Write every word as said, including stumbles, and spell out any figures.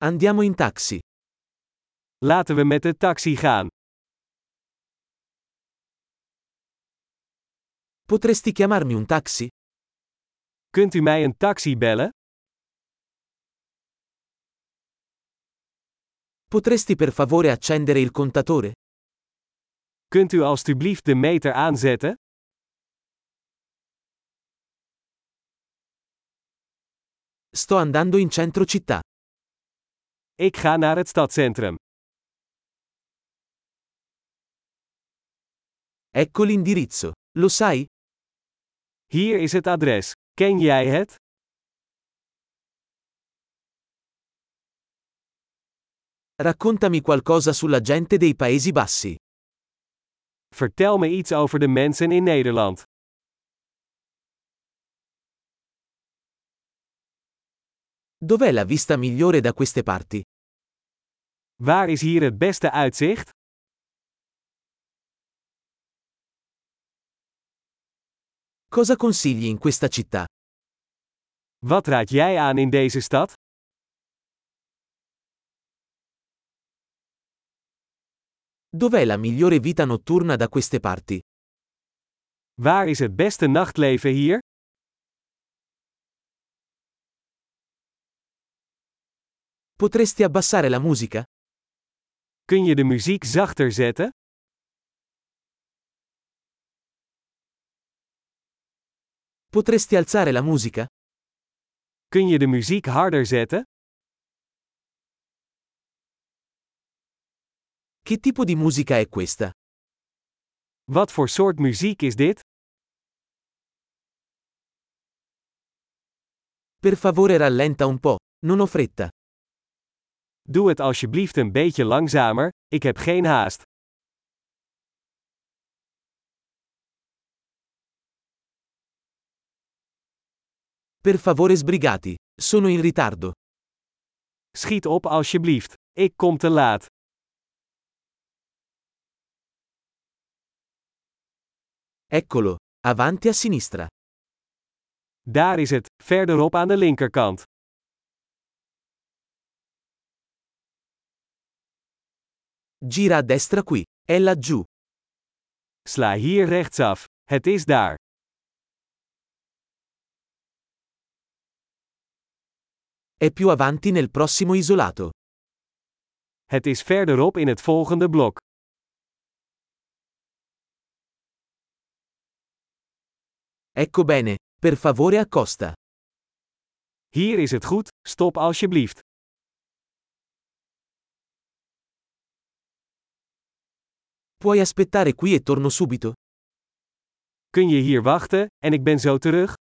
Andiamo in taxi. Laten we met de taxi gaan. Potresti chiamarmi un taxi? Kunt u mij een taxi bellen? Potresti per favore accendere il contatore? Kunt u alstublieft de meter aanzetten? Sto andando in centro città. Ik ga naar het stadscentrum. Ecco l'indirizzo. Lo sai? Hier is het adres. Ken jij het? Raccontami qualcosa sulla gente dei Paesi Bassi. Vertel me iets over de mensen in Nederland. Dov'è la vista migliore da queste parti? Waar is hier het beste uitzicht? Cosa consigli in questa città? Wat raad jij aan in deze stad? Dov'è la migliore vita notturna da queste parti? Waar is het beste nachtleven hier? Potresti abbassare la musica? Kun je de muziek zachter zetten? Potresti alzare la musica? Kun je de muziek harder zetten? Che tipo di musica è questa? Wat voor soort muziek is dit? Per favore rallenta un po', non ho fretta. Doe het alsjeblieft een beetje langzamer, ik heb geen haast. Per favore sbrigati, sono in ritardo. Schiet op alsjeblieft, ik kom te laat. Eccolo, avanti a sinistra. Daar is het, verderop aan de linkerkant. Gira a destra qui, è laggiù. Sla hier rechtsaf, het is daar. È più avanti nel prossimo isolato. Het is verderop in het volgende blok. Ecco bene, per favore accosta. Hier is het goed, stop alsjeblieft. Puoi aspettare qui e torno subito? Kun je hier wachten, en ik ben zo terug?